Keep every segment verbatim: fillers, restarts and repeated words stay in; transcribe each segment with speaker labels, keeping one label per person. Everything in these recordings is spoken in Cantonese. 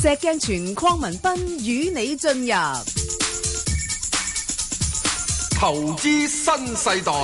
Speaker 1: 石鏡泉鄺民彬與你進入
Speaker 2: 投資新世代。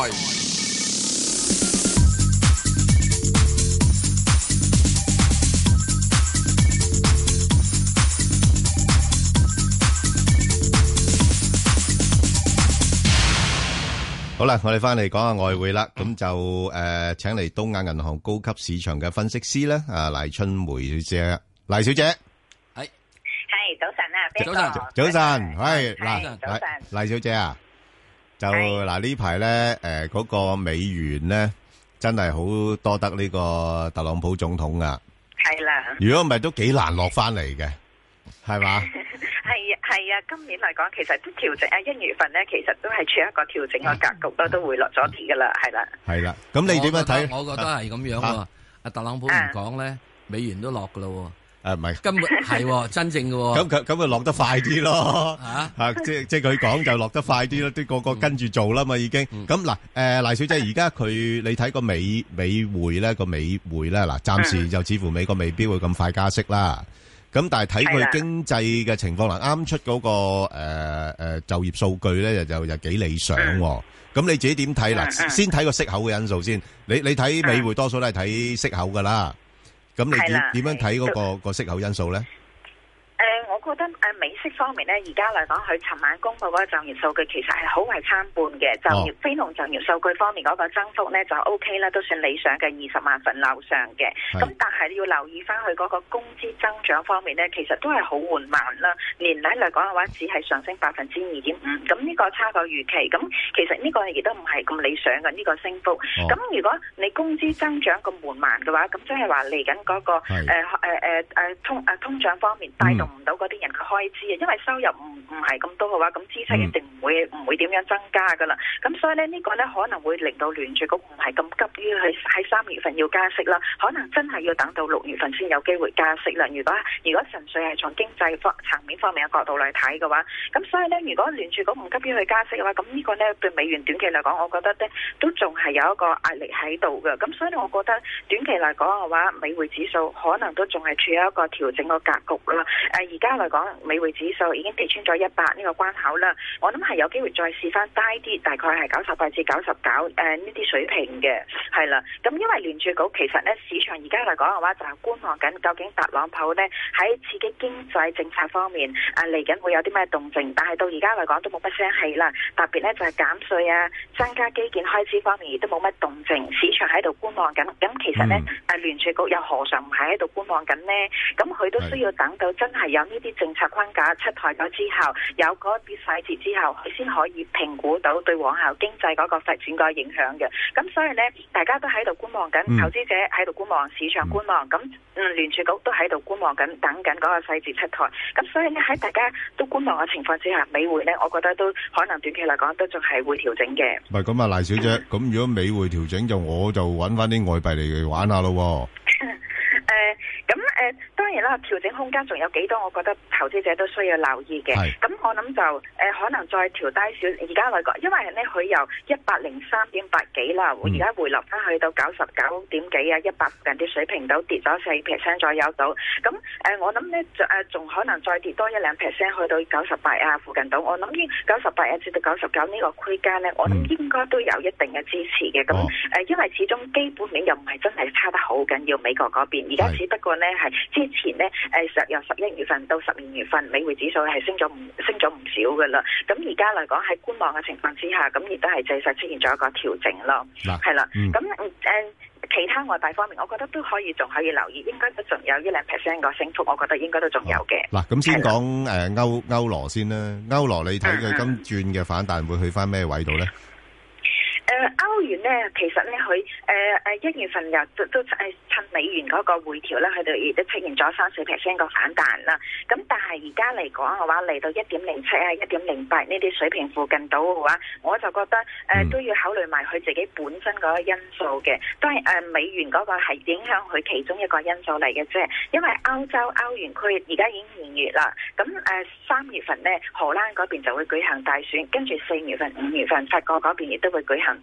Speaker 3: 好啦，我哋翻嚟講下外匯啦，咁就誒，請嚟東亞銀行高級市場嘅分析師咧，啊賴春梅小姐，賴小姐，
Speaker 4: 係係早晨啊，
Speaker 3: 早晨，早晨，係嗱，
Speaker 4: 早晨，
Speaker 3: 賴小姐啊，就嗱呢排咧，誒嗰個美元咧，真係好多得呢個特朗普總統啊，
Speaker 4: 係啦，
Speaker 3: 如果唔係都幾難落翻嚟嘅，係嘛？
Speaker 4: 係啊，係啊，今年嚟講，其實都調整啊，一月份咧，其實都係處於一個調整嘅格局啦，都會落咗啲噶啦，係啦。
Speaker 3: 係啦，咁你點樣睇？
Speaker 5: 我覺得係咁樣喎。阿特朗普唔講咧，美元都落噶咯。
Speaker 3: 誒唔係，
Speaker 5: 根本係真正嘅。
Speaker 3: 咁佢咁佢落得快啲咯。嚇嚇，即即係佢講就落得快啲咯，啲個個跟住做啦嘛已經。咁嗱，誒賴小姐，而家佢你睇個美美匯咧，個美匯咧，嗱暫時就似乎美國未必會咁快加息啦。咁但係睇佢經濟嘅情況啦，啱出嗰個誒誒就業數據咧，就就幾理想。咁你自己點睇啦？先睇個息口嘅因素先。你你睇美匯多數都係睇息口噶啦。咁你點點樣睇嗰個個息口因素咧？
Speaker 4: 誒，我覺得誒美息方面咧，而家嚟講，佢尋晚公布嗰個就業數據其實係好壞參半嘅。就業非農就業數據方面嗰個增幅咧就 O K 啦，都算理想嘅二十萬份樓上嘅。咁但係要留意翻佢嗰個工資增長方面咧，其實都係好緩慢啦。年底嚟講嘅話，只係上升百分之二點五，咁呢個差過預期。咁其實呢個亦都唔係咁理想嘅呢個升幅。咁、哦、如果你工資增長咁緩慢嘅話，咁即係話嚟緊嗰個誒誒誒誒通誒通脹方面帶動唔到嗰啲人嘅開支啊，因為收入唔唔係咁多嘅話，咁支出一定唔會唔、嗯、會點樣增加噶啦。咁所以咧呢、這個咧可能會令到聯儲局唔係咁急於去喺三月份要加息啦，可能真係要等到六月份先有機會加息啦。如果如果純粹係從經濟方層面方面嘅角度嚟睇嘅話，咁所以咧如果聯儲局唔急於去加息嘅話，咁呢個咧對美元短期嚟講，我覺得咧都仲係有一個壓力喺度嘅。咁所以我覺得短期嚟講嘅話，美匯指數可能都仲係處於一個調整嘅格局啦。誒而家嚟講，美匯指數已經跌穿咗一百呢個關口啦。我諗係有機會再試翻低啲，大概係九十八至九十九誒呢啲水平嘅，係啦。咁因為聯儲局其實咧市場而家嚟講嘅話，就係觀望緊究竟特朗普呢喺刺激經濟政策方面啊嚟緊會有啲咩動靜，但係到而家嚟講都冇乜聲氣啦。特別咧就係減稅啊、增加基建開支方面亦都冇乜動靜，市場喺度觀望緊。咁其實咧啊聯儲局又何嘗唔係喺度觀望緊呢？咁佢都需要等到真係有呢啲政策框架出台咗之後，有嗰啲細節之後，佢先可以評估到對往後經濟嗰個發展個影響嘅。咁所以呢，大家都喺度觀望緊，嗯、投資者喺度觀望，市場觀望，咁嗯聯儲局都喺度觀望緊，等緊嗰個細節出台。咁所以呢，喺大家都觀望嘅情況之下，美匯呢，我覺得都可能短期嚟講都仲係會調整嘅。
Speaker 3: 唔係咁啊，賴小姐，咁、嗯、如果美匯調整，就我就揾翻啲外幣嚟玩下咯。
Speaker 4: 誒，咁誒、呃，當然啦，調整空間仲有幾多？我覺得投資者都需要留意嘅。咁我諗就誒、呃，可能再調低少。而家嚟講，因為咧佢由一百零三點八幾啦，而家回落翻去到九十九點幾啊，一百附近啲水平都跌咗四 percent 左右到。咁誒、呃，我諗咧就誒，仲可能再跌多一兩 percent 去到九十八啊附近到。我諗呢九十八啊至到九十九呢個區間咧，我諗應該都有一定嘅支持嘅。咁誒、呃，因為始終基本面又唔係真係差得好緊要，美國嗰邊。而家只不過咧係之前咧誒十由十一月份到十二月份，美匯指數係升咗唔升咗唔少噶啦。咁而家嚟講喺觀望嘅情況之下，咁亦都係正式出現咗一個調整咯。係啦，咁誒、嗯呃、其他外幣方面，我覺得都可以仲可以留意，應該都仲有一兩 percent 個升幅，我覺得應該都仲有嘅。嗱、哦，
Speaker 3: 咁先講誒歐歐羅先啦，歐羅你睇佢今轉嘅反彈會去翻咩位度咧？
Speaker 4: 誒、呃、歐元咧，其實咧佢誒誒一月份又都都誒趁美元嗰個回調咧，佢哋亦都出現咗三四 percent 個反彈啦。咁但係而家嚟講嘅話，嚟到一點零七啊、一點零八呢啲水平附近到嘅話，我就覺得誒、呃、都要考慮埋佢自己本身嗰個因素嘅。當然誒美元嗰個係影響佢其中一個因素嚟嘅啫。因為歐洲歐元區而家已經二月啦，咁誒三月份咧荷蘭嗰邊就會舉行大選，跟住四月份、五月份法國嗰邊亦都會舉行大選，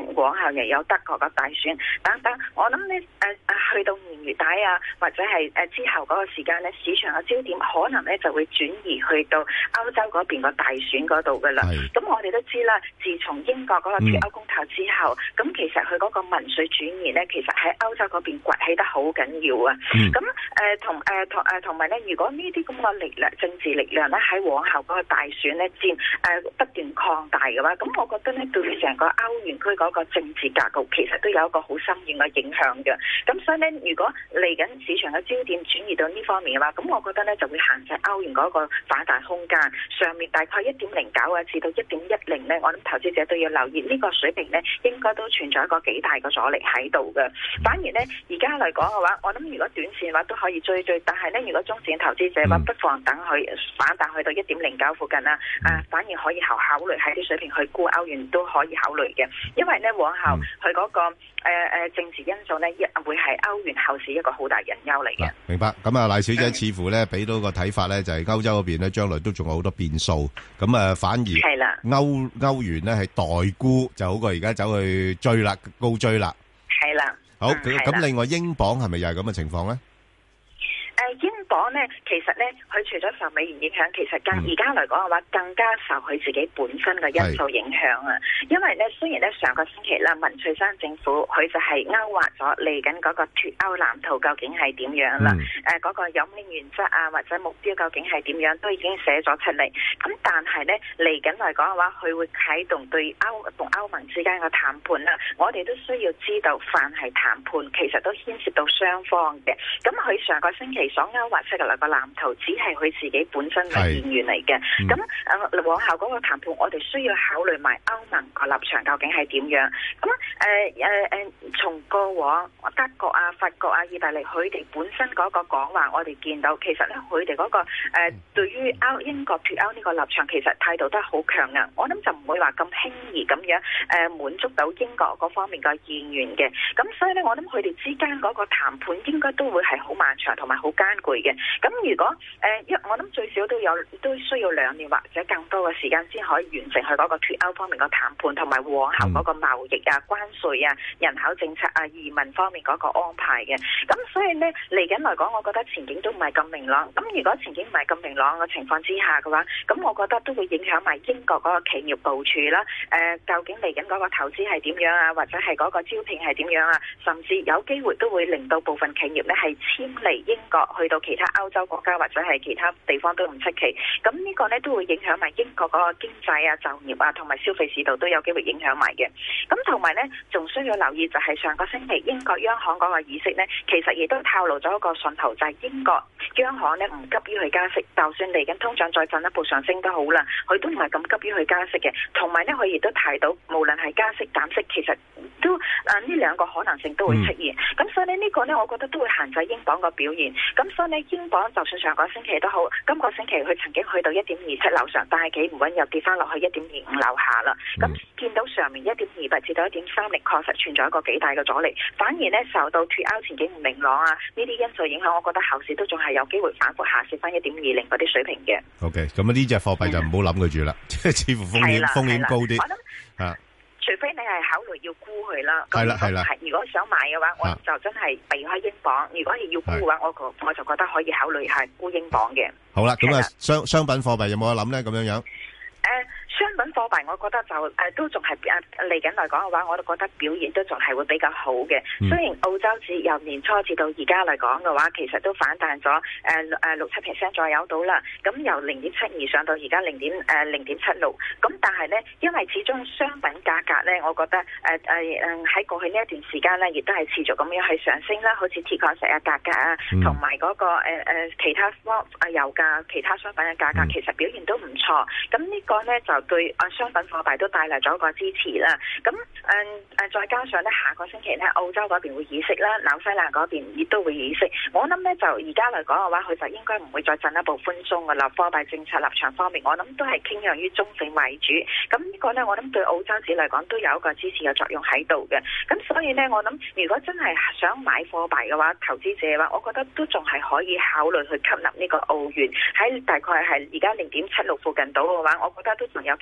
Speaker 4: 往後又有德國嘅大選等等。我諗咧誒誒去到年月底啊，或者係誒之後嗰個時間咧，市場嘅焦點可能咧就會轉移去到歐洲嗰邊個大選嗰度噶啦。咁我哋都知啦，自從英國嗰個脫歐公投之後，咁、嗯、其實佢嗰個民粹轉移咧，其實喺歐洲嗰邊崛起得好緊要啊。咁誒同誒同誒同埋咧，如果呢啲咁嘅力量、政治力量咧喺往後嗰個大選咧佔誒不斷擴大嘅話，咁我覺得咧對成個歐元區嗰個政治格局其實都有一個好深遠嘅影響嘅。咁所以咧，如果嚟緊市場嘅焦點轉移到呢方面嘅話，咁我覺得咧就會限制歐元嗰個反彈空間。上面大概一點零九啊至到一點一零咧，我諗投資者都要留意呢個水平咧，應該都存在一個幾大嘅阻力喺度嘅。反而咧而家嚟講嘅話，我諗如果短線嘅話都可以追追，但係咧如果中線投資者嘅話，不妨等佢反彈去到一點零九附近啦，啊反而可以考考慮喺啲水平去沽歐元都可以考慮嘅，因為咧往後佢嗰、那個誒誒、呃、政治因素咧，一會係歐元後市一個好大隱憂嚟嘅。
Speaker 3: 明白。咁啊，賴小姐似乎咧俾到個睇法咧，就係歐洲嗰邊咧將來都仲有好多變數，咁啊反而係啦，歐歐元咧係代沽就好過而家走去追啦，高追啦。係啦。好，咁另外英鎊係咪又係咁嘅情況咧？
Speaker 4: 誒英鎊咧，其實咧，佢除咗受美元影響，其實更而家嚟講嘅話，更加受佢自己本身嘅因素影響啊。因為咧，雖然咧上個星期啦，文翠珊政府佢就係勾畫咗嚟緊嗰個脫歐藍圖究竟係點樣啦，誒嗰、嗯呃嗰個有咩原則啊，或者目標究竟係點樣，都已經寫咗出嚟。咁但係咧嚟緊嚟講嘅話，佢會啟動對歐同歐盟之間嘅談判啦。我哋都需要知道，凡係談判其實都牽涉到雙方嘅。咁佢上個星期所勾畫出嘅兩個藍圖，只係佢自己本身嘅意願嚟嘅。咁誒、嗯、往後嗰個談判，我哋需要考慮埋歐盟個立場究竟係點樣。咁誒誒誒，從過往德國啊、法國啊、意大利，佢哋本身嗰個講話，我哋見到其實咧，佢哋嗰個誒、呃、對於歐英國脫歐呢個立場，其實態度都係好強硬。我諗就唔會話咁輕易咁樣誒、呃、滿足到英國嗰方面嘅意願嘅。咁所以咧，我諗佢哋之間嗰個談判應該都會係好漫長同埋好艱巨嘅。咁如果誒一、呃、我諗最少都有都需要兩年或者更多嘅時間先可以完成佢嗰個脫歐方面嘅談判，同埋往後嗰個貿易啊、關稅啊、人口政策啊、移民方面嗰個安排嘅。咁所以呢，嚟緊嚟講，我覺得前景都唔係咁明朗。咁如果前景唔係咁明朗嘅情況之下嘅話，咁我覺得都會影響埋英國嗰個企業部署啦。誒、呃，究竟嚟緊嗰個投資係點樣啊？或者係嗰個招聘係點樣啊？甚至有機會都會令到部分企業呢係遷離英國去到其他歐洲國家或者係其他地方都唔出奇。咁呢個呢都會影響埋英國嗰個經濟啊、就業啊同埋消費市道都有機會影響埋嘅。咁同埋呢，仲需要留意就係上個星期英國央行嗰個議息呢，其實亦都透露咗一個訊號，就係英國央行呢唔急於去加息，就算嚟緊通脹再進一步上升都好啦，佢都唔係咁急於去加息嘅。同埋呢，佢亦都提到，無論係加息減息，其實都啊呢兩個可能性都會出現。咁、嗯、所以呢，呢個呢，我覺得都會限制英鎊個表現。咁所以呢，英鎊就算上個星期都好，今個星期佢曾經去到一點二七樓上，但係企唔穩又跌翻落去一點二五樓下啦。咁、嗯、見到上面一點二八至到一點三零，確實存在一個幾大嘅阻力。反而呢，受到脫歐前景唔明朗啊呢啲因素影響，我覺得後市都仲係有機會反覆下試翻一點二零嗰啲水平嘅。
Speaker 3: OK， 咁啊呢隻貨幣就唔好諗佢住啦，即係似乎風險風險高啲。
Speaker 4: 我諗啊，除非你係考慮要沽佢啦。
Speaker 3: 係啦係啦。
Speaker 4: 如果想買嘅話，我就真係避開英鎊。如果係要沽嘅話，我個我就覺得可以考慮係沽英鎊嘅。
Speaker 3: 好啦，咁啊商商品貨幣有冇得諗咧？咁樣樣。誒、
Speaker 4: 呃。商品貨幣，我覺得就誒、呃、都仲係誒嚟緊嚟講嘅話，我都覺得表現都仲係會比較好嘅。嗯、雖然澳洲指由年初至到而家嚟講嘅話，其實都反彈咗誒誒六七 percent 左右到啦。咁由零點七二上到而家零點誒零點七六。咁但係咧，因為始終商品價格咧，我覺得誒誒誒喺過去呢一段時間咧，亦都係持續咁樣去上升啦。好似鐵礦石啊價格啊，同埋嗰個誒、呃、其他方啊油價、其他商品嘅價格，其實表現都唔錯。咁呢個咧就對啊商品貨幣都帶嚟咗一個支持啦。咁誒誒再加上咧，下個星期咧澳洲嗰邊會議息啦，紐西蘭嗰邊亦都會議息。我諗咧就而家嚟講嘅話，佢就應該唔會再進一步寬鬆嘅啦。貨幣政策立場方面，我諗都係傾向於中性為主。咁呢個咧，我諗對澳洲紙嚟講都有一個支持嘅作用喺度嘅。咁所以咧，我諗如果真係想買貨幣嘅話，投資者嘅話，我覺得都仲係可以考慮去吸納呢個澳元喺大概係而家零點七六附近度嘅話，我覺得都仲有機會再進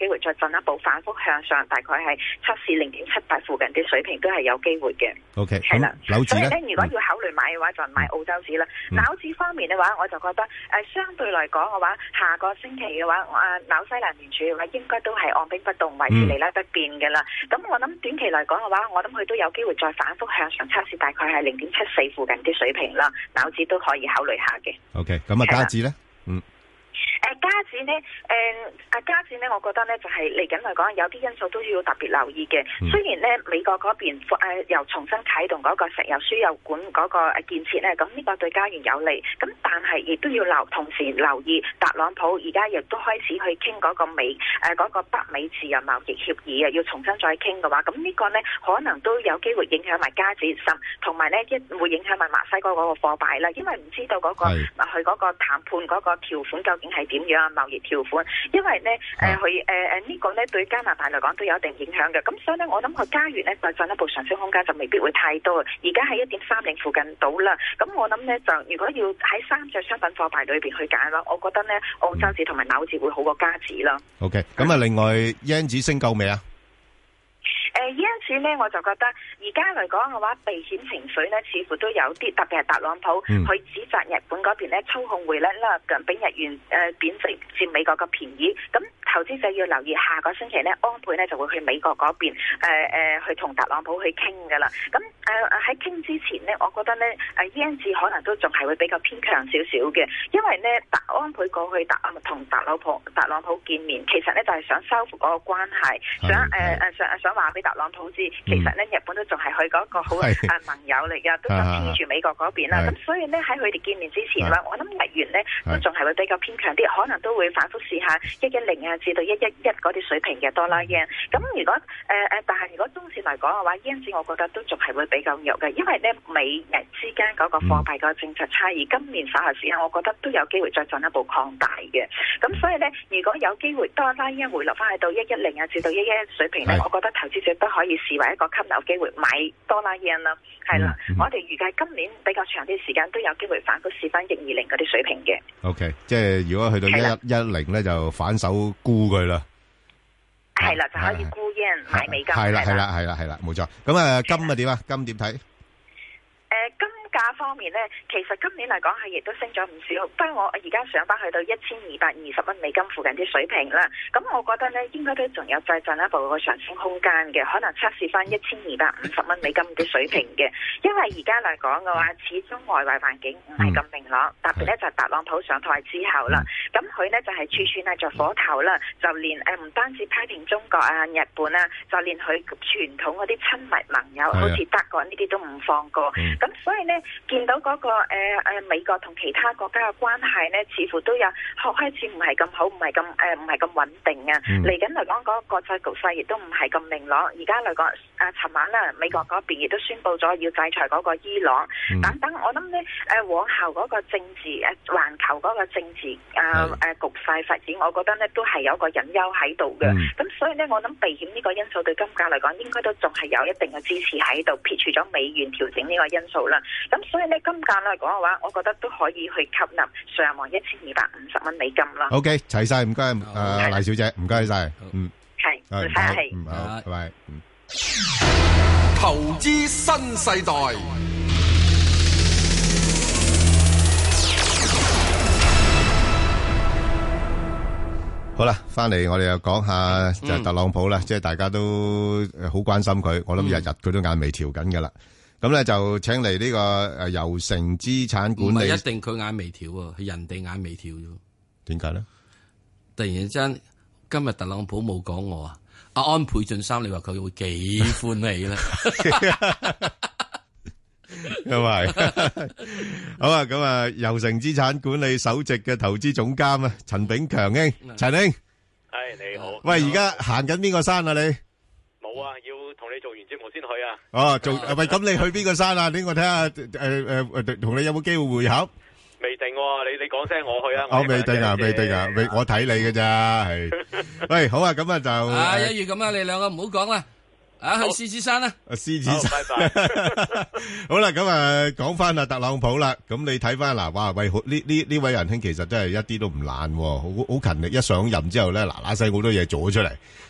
Speaker 4: 一步反覆向上，大概係測試零點七八附近啲水平都係有機會嘅。
Speaker 3: O K，
Speaker 4: 係啦，
Speaker 3: 紐指咧，
Speaker 4: 所以咧，如果要考慮買嘅話，就買澳洲指啦。紐指方面嘅話，我就覺得誒、呃、相對嚟講嘅話，下個星期嘅話，啊紐西蘭聯儲嘅話應該都係按兵不動，維持利率不變嘅啦。咁、嗯、我諗短期嚟講嘅話，我諗佢都有機會再反覆向上測試，大概係零點七四附近啲水平啦。紐指都可以考慮下嘅。
Speaker 3: O K， 咁啊加指咧，嗯。
Speaker 4: 誒加指呢，誒啊加指呢，我覺得呢就係嚟緊嚟講，有啲因素都要特別留意嘅。嗯、雖然呢美國嗰邊誒、呃、又重新啟動嗰個石油輸油管嗰個建設呢，咁呢個對加元有利。咁但係亦都要留同時留意特朗普而家亦都開始去傾嗰個美誒嗰、呃嗰個北美自由貿易協議啊，要重新再傾嘅話，咁呢個呢可能都有機會影響埋加指，甚同埋呢一會影響埋墨西哥嗰個貨幣啦，因為唔知道嗰、嗰個佢嗰個談判嗰個條款究竟係點樣啊，貿易條款，因為咧誒佢誒誒呢個咧對加拿大嚟講都有一定影響嘅，咁所以咧我諗佢加元咧就進一步上升空間就未必會太多，而家喺一點三零附近到啦，咁我諗咧就如果要喺三隻商品貨幣裏邊去揀啦，我覺得咧澳洲紙同埋紐紙會好過加紙啦。
Speaker 3: OK， 咁啊另外 yen 紙升夠未啊？
Speaker 4: 誒，因此咧，我就覺得而家嚟講嘅話，避險情緒咧，似乎都有啲，特別係特朗普去、嗯、指責日本嗰邊咧操控匯率啦，咁俾日元誒貶值佔美國嘅便宜。咁投資者要留意，下個星期咧，安倍咧就會去美國嗰邊誒誒去同特朗普去傾噶啦。咁誒喺傾之前呢，我覺得咧誒 yen 紙可能都仲係會比較偏強少少嘅，因為咧特安倍過去特同特朗普特朗普見面，其實咧就係、是、想修復嗰個關係，想誒誒想想話俾特朗普知，其實咧、嗯、日本都仲係佢嗰個好誒盟友嚟噶，都想黐住美國嗰邊啦。咁所以咧喺佢哋見面之前啦，我諗日元咧都仲係會比較偏強啲，可能都會反覆試下一一零啊至到一一一嗰啲水平嘅多啦 yen。咁如果誒誒、呃，但係如果中線嚟講嘅話 yen 紙我覺得都仲係會比較弱嘅，因為咧美日之間嗰個貨幣個政策差異，今年稍後時間我覺得都有機會再進一步擴大嘅。咁所以咧，如果有機會多啦 yen 回落翻去到一一零啊至到一一一水平咧，我覺得投資者都可以視為一個吸納機會買多啦 yen 啦。係啦，嗯嗯、我哋預計今年比較長啲時間都有機會反覆試翻一二零嗰啲水平嘅。O
Speaker 3: K， 即係如果去到一一一零咧，就反手沽佢啦。
Speaker 4: 係啦，就可以沽 yen 買美金。
Speaker 3: 係啦，係啦，係啦，係啦，冇錯。咁啊，金啊點啊？金點睇？誒，
Speaker 4: 金價方面咧，其實今年嚟講係亦都升咗唔少。不過我而家上翻去到一千二百二十蚊美金附近啲水平啦。咁我覺得咧，應該都仲有再進一步個上升空間嘅，可能測試翻一千二百五十蚊美金啲水平嘅。因為而家嚟講嘅話，始終外圍環境唔係咁明朗，特別咧就係特朗普上台之後啦。咁佢呢就係處處係着火頭啦，就連誒唔單止批評中國啊、日本啊，就連佢傳統嗰啲親密盟友，好似德國呢啲都唔放過。咁所以呢。見到嗰、那個誒誒、呃、美國同其他國家嘅關係咧，似乎都有開始唔係咁好，唔係咁誒唔係咁穩定啊。嚟緊嚟講，嗰個國際局勢亦都唔係咁明朗。而家嚟講，誒尋晚啦，美國嗰邊亦都宣布咗要制裁嗰個伊朗。嗯、等等，我諗咧誒往後嗰個政治誒環球嗰個政治誒誒、呃呃、局勢發展，我覺得咧都係有個隱憂喺度嘅。咁、嗯、所以咧，我諗避險呢個因素對金價嚟講，應該都仲係有一定嘅支持喺度，撇除咗美元調整呢個因素啦。咁所以咧，金價嚟講嘅話，我覺得都可以去吸納上望一千二百五十蚊美金啦。
Speaker 3: O K， 齊晒，唔該，誒，黎小姐，唔該晒，嗯，
Speaker 4: 係，唔使客氣，
Speaker 3: 嗯，好，拜拜。
Speaker 2: 投資新世代。
Speaker 3: 好啦，翻嚟我哋又講下就係特朗普啦，即係大家都好關心佢，我諗日日佢都眼眉調緊噶啦。咁咧就請嚟呢個誒油城資產管理，唔係一定佢眼眉跳啊，係人哋眼眉跳啫。點解咧？突然間今日特朗普冇講我啊，阿安倍晉三，你話佢會幾歡喜咧？咁係好啊！咁啊，油城資產管理首席嘅投資總監啊，陳炳強兄，陳兄，
Speaker 6: 係你好。
Speaker 3: 喂，而家行緊邊個山啊？你
Speaker 6: 冇啊，要同你做完節目先去啊。
Speaker 3: 哦，做喂，咁你去邊個山啊？俾我睇下，誒誒誒，同你有冇機會會合？
Speaker 6: 未定，你你講聲我去啊。
Speaker 3: 我未定啊，未定啊，未我睇你嘅咋係。喂，好啊，咁啊就啊，一於咁啊，你兩個唔好講啦。啊，去獅子山啦！啊，獅子山，拜拜。好啦，咁啊，講翻阿特朗普啦。咁你睇翻嗱，哇喂，呢呢呢位仁兄其實真係一啲都唔懶，好好勤力。一上任之後咧，嗱嗱聲好多嘢做咗出嚟。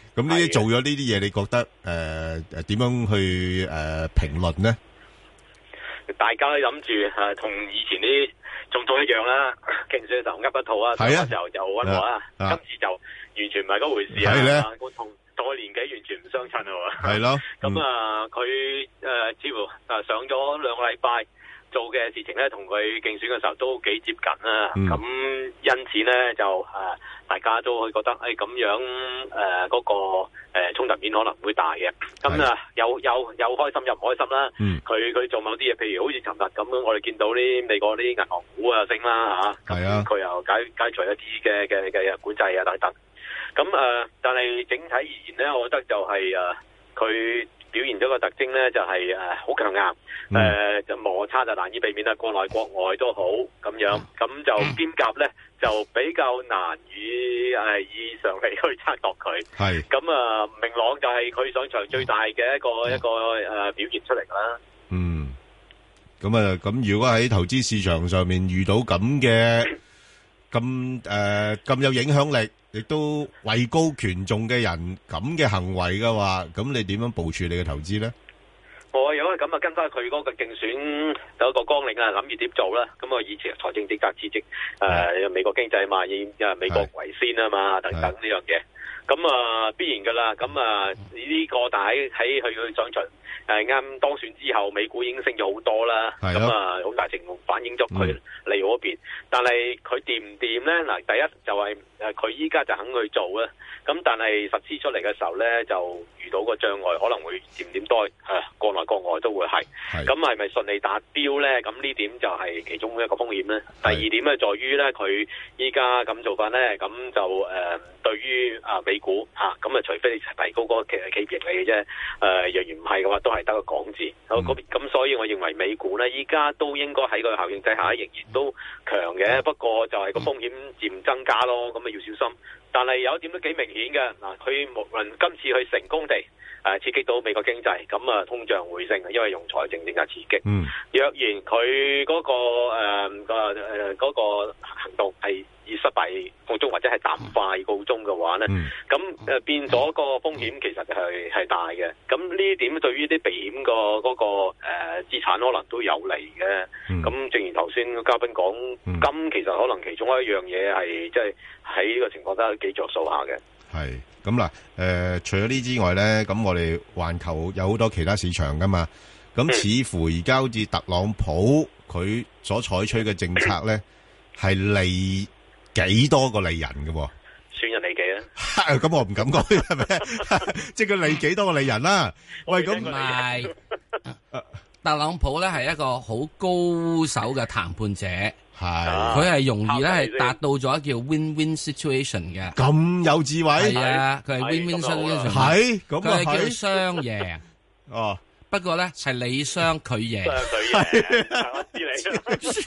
Speaker 3: 咁呢啲做咗呢啲嘢，你覺得誒誒點樣去誒評論呢？
Speaker 6: 大家都諗住誒，同以前啲總統一樣啦，競選嘅時候噏一套啊，嗰時候就溫和啦，今次就完全唔係嗰回事啊！我同同我年紀完全唔相襯啊！
Speaker 3: 係咯，
Speaker 6: 咁啊，佢誒似乎誒上咗兩個禮拜。做嘅事情咧，同佢競選嘅時候都幾接近啦。咁、嗯、因此咧，就誒、呃、大家都會覺得誒咁、哎、樣誒嗰、呃那個誒、呃、衝突面可能會大嘅。咁啊，有有有開心又唔開心啦。佢佢、嗯、做某啲嘢，譬如好似尋日咁樣，我哋見到啲美國啲銀行股啊升啦嚇。係啊，佢又解解除一啲嘅嘅嘅管制啊等等。咁誒、呃，但係整體而言咧，我覺得就係誒佢。呃表現咗個特徵咧，就係誒好強硬，誒、嗯呃、就摩擦就難以避免啦，國內國外都好咁樣，咁、嗯、就兼夾咧就比較難以誒、呃、以常理去測度佢。係咁啊，明朗就係佢上場最大嘅一個、嗯、一個誒、呃、表現出嚟啦。
Speaker 3: 嗯，咁啊，咁如果喺投資市場上面遇到咁嘅咁誒咁有影響力，亦都位高權重嘅人咁嘅行為嘅話，咁你點樣部署你嘅投資咧？
Speaker 6: 我如果係咁啊，跟翻佢嗰個競選有一個綱領啊，諗住點做啦。咁啊，以前財政政策刺激誒美國經濟嘛，以誒美國為先啊嘛，等等呢樣嘢。咁啊，必然噶啦。咁啊，呢個但係喺佢去上場誒啱當選之後，美股已經升咗好多啦。咁啊，好大程度反映咗佢利好嗰邊。但係佢掂唔掂咧？嗱，第一就係誒佢依家就肯去做啦。咁但係實施出嚟嘅時候咧，就遇到個障礙，可能會漸漸多誒國內國外都會係。咁係咪順利達標咧？咁呢點就係其中一個風險咧。第二點咧，在於咧佢依家咁做法咧，咁就誒、呃、對於啊美股嚇咁啊，除非你提高嗰個企企業盈利嘅啫。誒、呃，若然唔係嘅話，都係得個講字。咁、嗯、所以我認為美股咧，依家都應該喺個效應底下，仍然都強嘅。嗯、不過就係個風險漸增加咯，咁啊要小心。但係有一點都幾明顯嘅嗱，佢無論今次去成功地誒、呃、刺激到美國經濟，咁啊通脹回升，因為用財政政策刺激。嗯，若然佢嗰、那個誒個誒嗰個行動係以失敗告終，或者係淡化告終嘅話咧，咁誒、嗯呃、變咗個風險其實係係大嘅。咁呢點對於啲避險個嗰個誒資產可能都有利嘅。咁、嗯、正如頭先嘉賓講，金、嗯、其實可能其中一樣嘢係即係喺呢個情況都幾着數下嘅。係
Speaker 3: 咁嗱，誒、呃，除咗呢之外咧，咁我哋環球有好多其他市場噶嘛，咁似乎而家好似特朗普佢所採取嘅政策咧，係利幾多個利人嘅，
Speaker 6: 算人利己啊？
Speaker 3: 咁我唔敢講係咪？即係佢利幾多個利人啦、啊？喂，咁
Speaker 5: 唔係，特朗普咧係一個好高手嘅談判者。係，佢係容易咧，係達到咗叫 win-win situation 嘅。咁
Speaker 3: 有智慧
Speaker 5: 係啊，佢係 win-win situation。係，咁佢係叫雙贏。哦，不過咧係你雙佢贏。
Speaker 6: 我知你。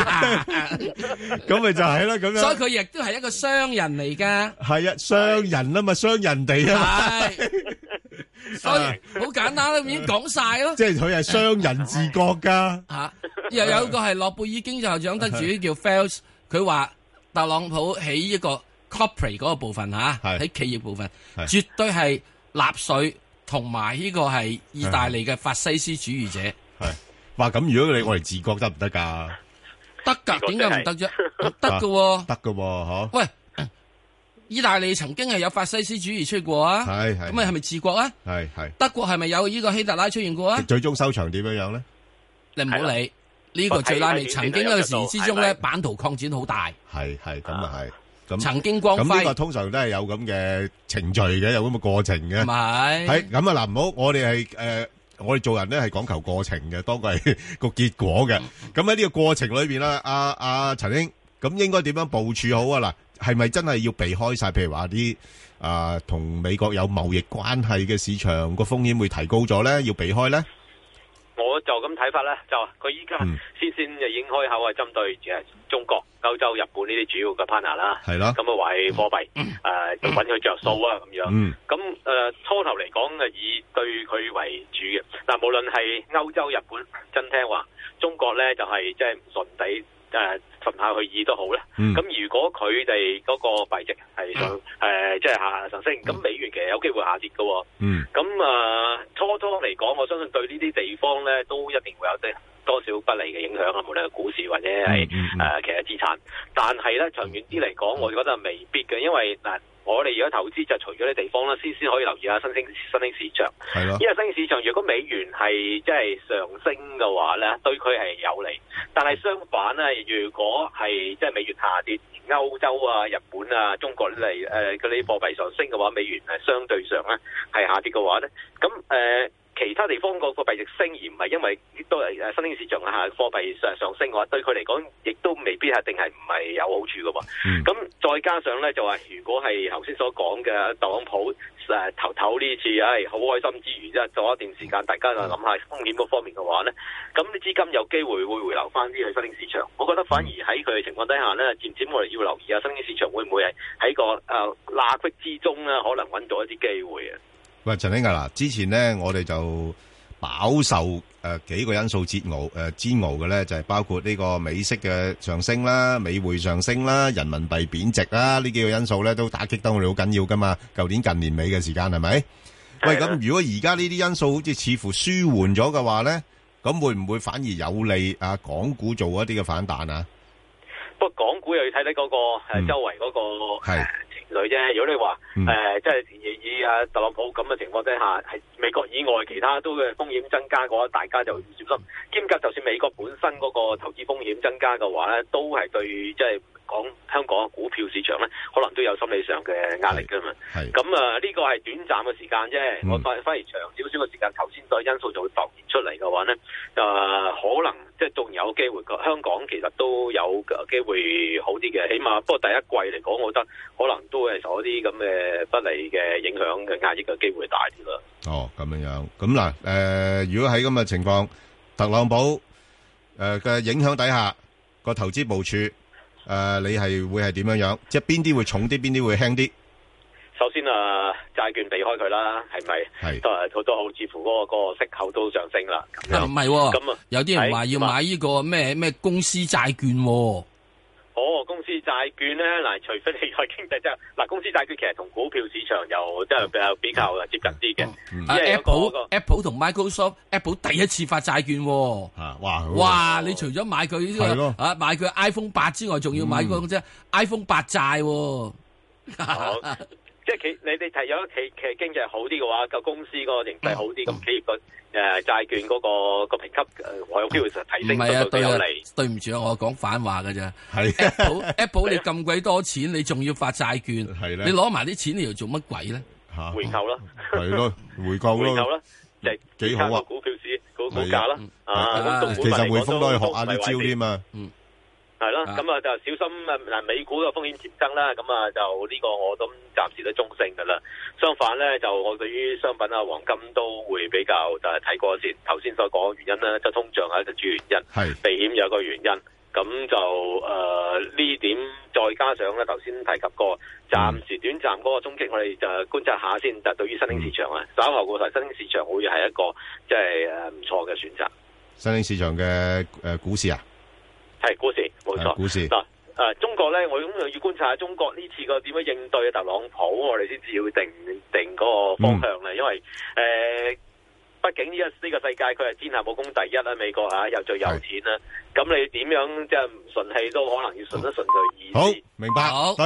Speaker 3: 咁咪就係啦，咁樣。
Speaker 5: 所以佢亦都係一個商人嚟噶。係
Speaker 3: 啊，商人啊嘛，商人哋啊。係。
Speaker 5: 所以好簡單啦，已經講晒咯。
Speaker 3: 即係佢係商人自覺噶。吓。又有個係諾貝爾經濟學獎得主叫 Phelps， 佢話特朗普喺一個 corporate 嗰個部分吓，喺企業部分絕對係納粹同埋呢個係意大利嘅法西斯主義者。 係話咁，如果你我哋自覺得唔得噶？
Speaker 5: 得噶，點解唔得啫？得噶，
Speaker 3: 得噶，嗬？
Speaker 5: 喂，意大利曾經係有法西斯主義出過啊，係係，咁啊係咪治國啊？係係。德國係咪有呢個希特拉出現過啊？
Speaker 3: 最終收場點樣樣咧？
Speaker 5: 你唔好理。呢個最拉尾，曾經一個時之中咧，版圖擴展好大。係係咁啊係，咁曾經光輝。咁呢個通常都係有咁嘅程序嘅，有咁嘅過程嘅。唔係，係咁啊嗱，唔好，我哋係誒，我哋做人咧係講求過程嘅，多過係個結果嘅。咁喺呢個過程裏邊啦，阿阿陳兄，咁應該點樣部署好啊？嗱，係咪真係要避開晒？譬如話啲啊，同美國有貿易關係嘅市場個風險會提高咗咧，要避開咧？
Speaker 6: 我就咁睇法咧，就佢依家先先就已經開口係針對誒中國、歐洲、日本呢啲主要嘅 partner 啦，係咯，咁啊為貨幣誒揾佢着數啊咁樣。咁誒、呃、初頭嚟講誒以對佢為主嘅，嗱無論係歐洲、日本真聽話，中國咧就係即係唔順地誒順下去意都好咧。咁、
Speaker 3: 嗯、
Speaker 6: 如果佢哋嗰個幣值係上誒即係下上升，咁、嗯、美元其實有機會下跌嘅、哦。嗯。咁啊、呃，初初嚟講，我相信對呢啲地方咧都一定會有啲多少不利嘅影響啊，無論係股市或者係誒、嗯嗯呃、其他資產。但係咧長遠啲嚟講，我覺得係未必嘅，因為嗱。呃我哋而家投資就除咗啲地方啦，先先可以留意下新興新興市場。係咯，因為新興市場如果美元係即係上升嘅話咧，對佢係有利。但係相反咧，如果係即係美元下跌，歐洲啊、日本啊、中國嚟誒嗰啲貨幣上升嘅話，美元係相對上咧係下跌嘅話咧，咁誒。呃其他地方個貨幣值升而唔係因為都係誒新興市場下貨幣上上升嘅話，對佢嚟講亦都未必係定係唔係有好處嘅喎。咁、嗯、再加上咧就話，如果係頭先所講嘅特朗普誒頭頭呢次，唉好開心之餘，即係做一段時間，大家就諗下風險嗰方面嘅話咧，咁啲資金有機會會回流翻啲去新興市場。我覺得反而喺佢嘅情況底下咧，漸漸我哋要留意下新興市場會唔會係喺個誒罅隙之中咧，可能揾到一啲機會啊。
Speaker 3: 喂，陳兄啊，嗱，之前咧我哋就飽受誒、呃、幾個因素煎熬誒煎熬嘅咧，就係、是、包括呢個美息嘅上升啦、美匯上升啦、人民幣貶值啦，呢幾個因素咧都打擊得我哋好緊要噶嘛。舊年近年尾嘅時間係咪？喂，咁如果而家呢啲因素好似似乎舒緩咗嘅話咧，咁會唔會反而有利啊港股做一啲嘅反彈啊？
Speaker 6: 不過港股又要睇睇嗰個誒、嗯、周圍嗰、那個係。類啫，如果你話誒，即係以以阿特朗普咁嘅情況之下，係美國以外其他都嘅風險增加嘅話，大家就要小心。兼夾就算美國本身嗰個投資風險增加嘅話咧，都係對即係講香港嘅股票市場咧，可能都有心理上嘅壓力㗎嘛。係咁啊，呢個係短暫嘅時間啫。嗯、我反反而長少少嘅時間，頭先所因素就會浮現出嚟嘅話咧，誒、呃、可能即係仲有機會。香港其實都有機會好啲嘅，起碼不過第一季嚟講，我覺得可能都會係受一啲咁嘅不利嘅影響嘅壓抑嘅機會大啲啦。
Speaker 3: 哦，咁樣樣，咁嗱，誒、呃，如果喺咁嘅情況，特朗普誒嘅、呃、影響底下，個投資部署誒、呃，你係會係點樣樣？即係邊啲會重啲，邊啲會輕啲？
Speaker 6: 首先啊，債券避開佢啦，係咪？係都係好多好，似乎嗰個嗰個息口都上升啦。
Speaker 5: 啊，唔係，咁啊，有啲人話要買呢個咩咩公司債券。
Speaker 6: 哦，公司債券咧，嗱，除非你個經濟即係嗱，公司債券其實同股票市場又即係比較比較接近啲嘅。
Speaker 5: 啊 Apple Apple 同 Microsoft，Apple 第一次發債券。
Speaker 3: 啊，哇！
Speaker 5: 哇！你除咗買佢呢個啊買佢 iPhone 八之外，仲要買嗰個啫 iPhone 八債。
Speaker 6: 即係企你哋睇有企企經濟好啲嘅話，個公司嗰個形勢好啲，咁企業個誒債券嗰個個評級誒，我有機會提升到都有利。
Speaker 5: 對唔住啊，我講反話㗎啫。係 Apple Apple 你咁鬼多錢，你仲要發債券？係咧，你攞埋啲錢嚟做乜鬼咧？吓，
Speaker 6: 回購啦，
Speaker 3: 係咯，回購咯，回購啦，
Speaker 6: 即係
Speaker 3: 幾好啊！
Speaker 6: 股票市股股價啦，啊，
Speaker 3: 其實匯豐都可以學下啲招添嘛。嗯。
Speaker 6: 係咯，咁啊就小心啊！嗱，美股嘅風險漸增啦，咁啊就呢個我都暫時都中性噶啦。相反咧，就我對於商品啊、黃金都會比較就係睇過先。頭先所講嘅原因咧，就通脹係一個主要原因，係避險有一個原因。咁就誒呢、呃、點再加上咧，頭先提及過，暫時短暫嗰個衝擊，我哋就觀察下先。就對於新興市場啊，稍後過嚟新興市場會係一個即係誒唔錯嘅選擇。新興市場嘅誒股市啊？係股市，冇錯。股市嗱，誒，中國咧，我咁又要觀察下中國呢次個點樣應對特朗普，我哋先至要定定嗰個方向咧。因為誒，畢竟呢個呢個世界佢係天下武功第一啦，美國吓又最有錢啦。咁你點樣即係唔順氣都可能要順一順佢意思。好，明白。好。